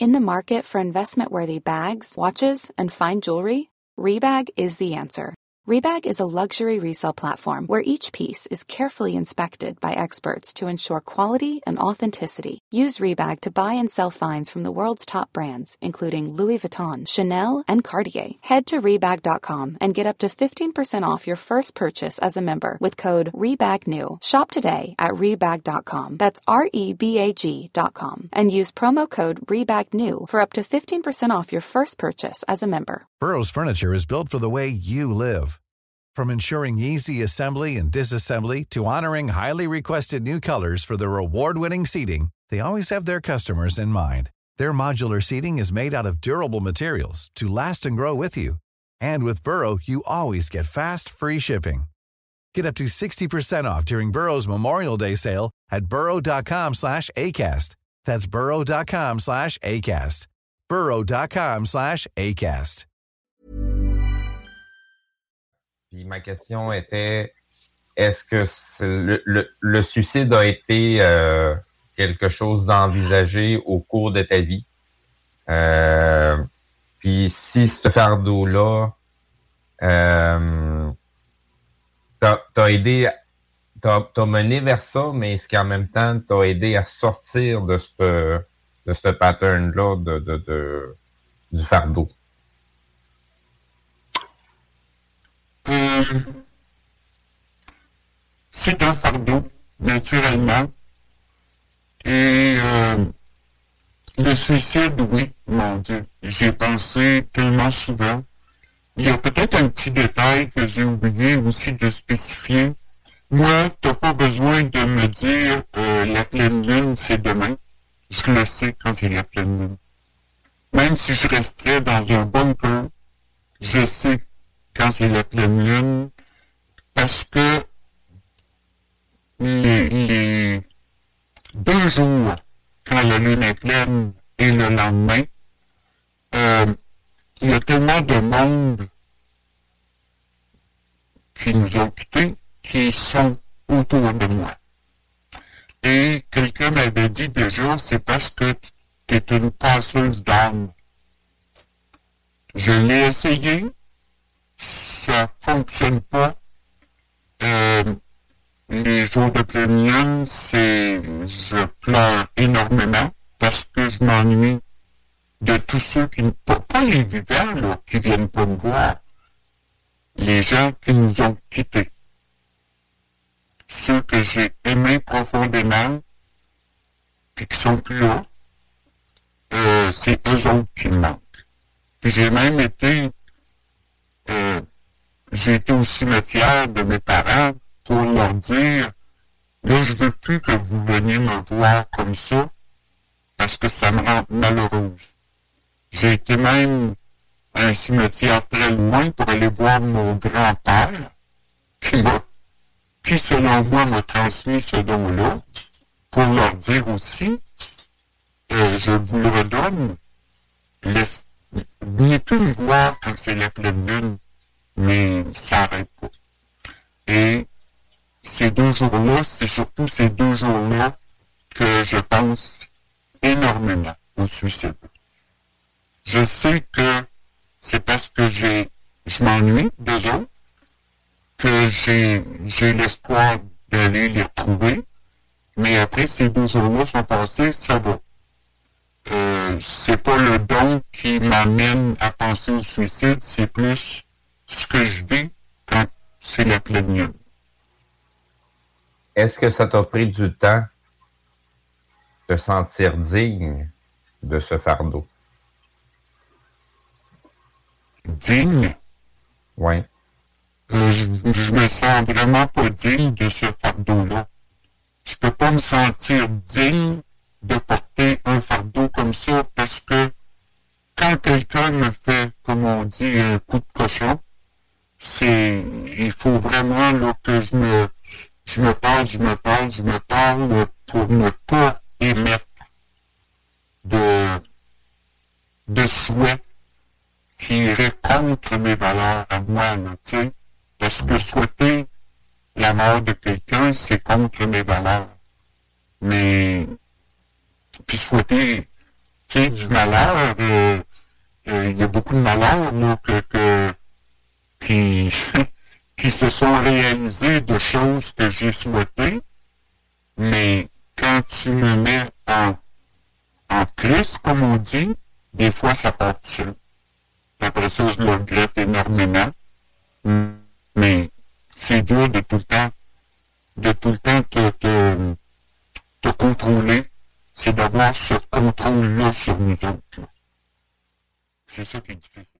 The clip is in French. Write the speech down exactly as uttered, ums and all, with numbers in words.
In the market for investment-worthy bags, watches, and fine jewelry, Rebag is the answer. Rebag is a luxury resale platform where each piece is carefully inspected by experts to ensure quality and authenticity. Use Rebag to buy and sell finds from the world's top brands, including Louis Vuitton, Chanel, and Cartier. Head to Rebag dot com and get up to fifteen percent off your first purchase as a member with code REBAGNEW. Shop today at Rebag dot com. That's R E B A G dot com. And use promo code REBAGNEW for up to fifteen percent off your first purchase as a member. Burrow's furniture is built for the way you live. From ensuring easy assembly and disassembly to honoring highly requested new colors for their award-winning seating, they always have their customers in mind. Their modular seating is made out of durable materials to last and grow with you. And with Burrow, you always get fast, free shipping. Get up to sixty percent off during Burrow's Memorial Day sale at burrow dot com slash ACAST. That's burrow dot com slash ACAST. burrow dot com slash ACAST. Puis ma question était, est-ce que c'est le, le, le suicide a été euh, quelque chose d'envisagé au cours de ta vie? Euh, puis si ce fardeau-là euh, t'a, t'a aidé, t'a, t'a mené vers ça, mais est-ce qu'en même temps t'a aidé à sortir de ce de ce pattern-là de, de, de, du fardeau? Euh, c'est un fardeau, naturellement. Et euh, le suicide, oui, mon Dieu, j'ai pensé tellement souvent. Il y a peut-être un petit détail que j'ai oublié aussi de spécifier. Moi, t'as pas besoin de me dire euh, la pleine lune, c'est demain. Je le sais quand c'est la pleine lune. Même si je resterais dans un bunker, je sais quand c'est la pleine lune, parce que les, les deux jours, quand la lune est pleine et le lendemain, euh, il y a tellement de monde qui nous ont quittés, qui sont autour de moi. Et quelqu'un m'avait dit déjà, c'est parce que tu es une passeuse d'âme. Je l'ai essayé, ça fonctionne pas. Euh, les jours de pleine lune, c'est, je pleure énormément parce que je m'ennuie de tous ceux qui ne, pas, pas les vivants, là, qui viennent pas me voir. Les gens qui nous ont quittés. Ceux que j'ai aimés profondément, puis qui sont plus là, euh, c'est eux autres qui me manquent. Puis j'ai même été, euh, j'ai été au cimetière de mes parents pour leur dire, là, je veux plus que vous veniez me voir comme ça, parce que ça me rend malheureuse. J'ai été même à un cimetière très loin pour aller voir mon grand-père, qui m'a, qui selon moi m'a transmis ce don-là, pour leur dire aussi, euh, je vous le redonne, laisse, venez plus me voir quand c'est la pleine lune, mais ça n'arrête pas. Et ces deux jours-là, c'est surtout ces deux jours-là que je pense énormément au suicide. Je sais que c'est parce que j'ai, je m'ennuie d'eux autres, que j'ai, j'ai l'espoir d'aller les retrouver, mais après ces deux jours-là sont passés, ça va. Euh, c'est pas le don qui m'amène à penser au suicide, c'est plus ce que je vis quand c'est la pleine lune. Est-ce que ça t'a pris du temps de te sentir digne de ce fardeau? Digne? Oui. Euh, je, je me sens vraiment pas digne de ce fardeau-là. Je peux pas me sentir digne de porter un fardeau comme ça parce que quand quelqu'un me fait, comme on dit, un coup de cochon, c'est, il faut vraiment là, que je me, je me parle, je me parle, je me parle pour ne pas émettre de, de souhaits qui iraient contre mes valeurs à moi, là, tu sais. Parce que souhaiter la mort de quelqu'un, c'est contre mes valeurs. Mais, puis souhaiter tu sais, du malheur, euh, euh, il y a beaucoup de malheurs, là, que, que, qui, qui se sont réalisés de choses que j'ai souhaitées, mais quand tu me mets en, en plus, comme on dit, des fois ça part tout seul. Après ça, je le regrette énormément, mais c'est dur de tout le temps, de tout le temps te, te, te contrôler, c'est d'avoir ce contrôle-là sur nous autres. C'est ça qui est difficile.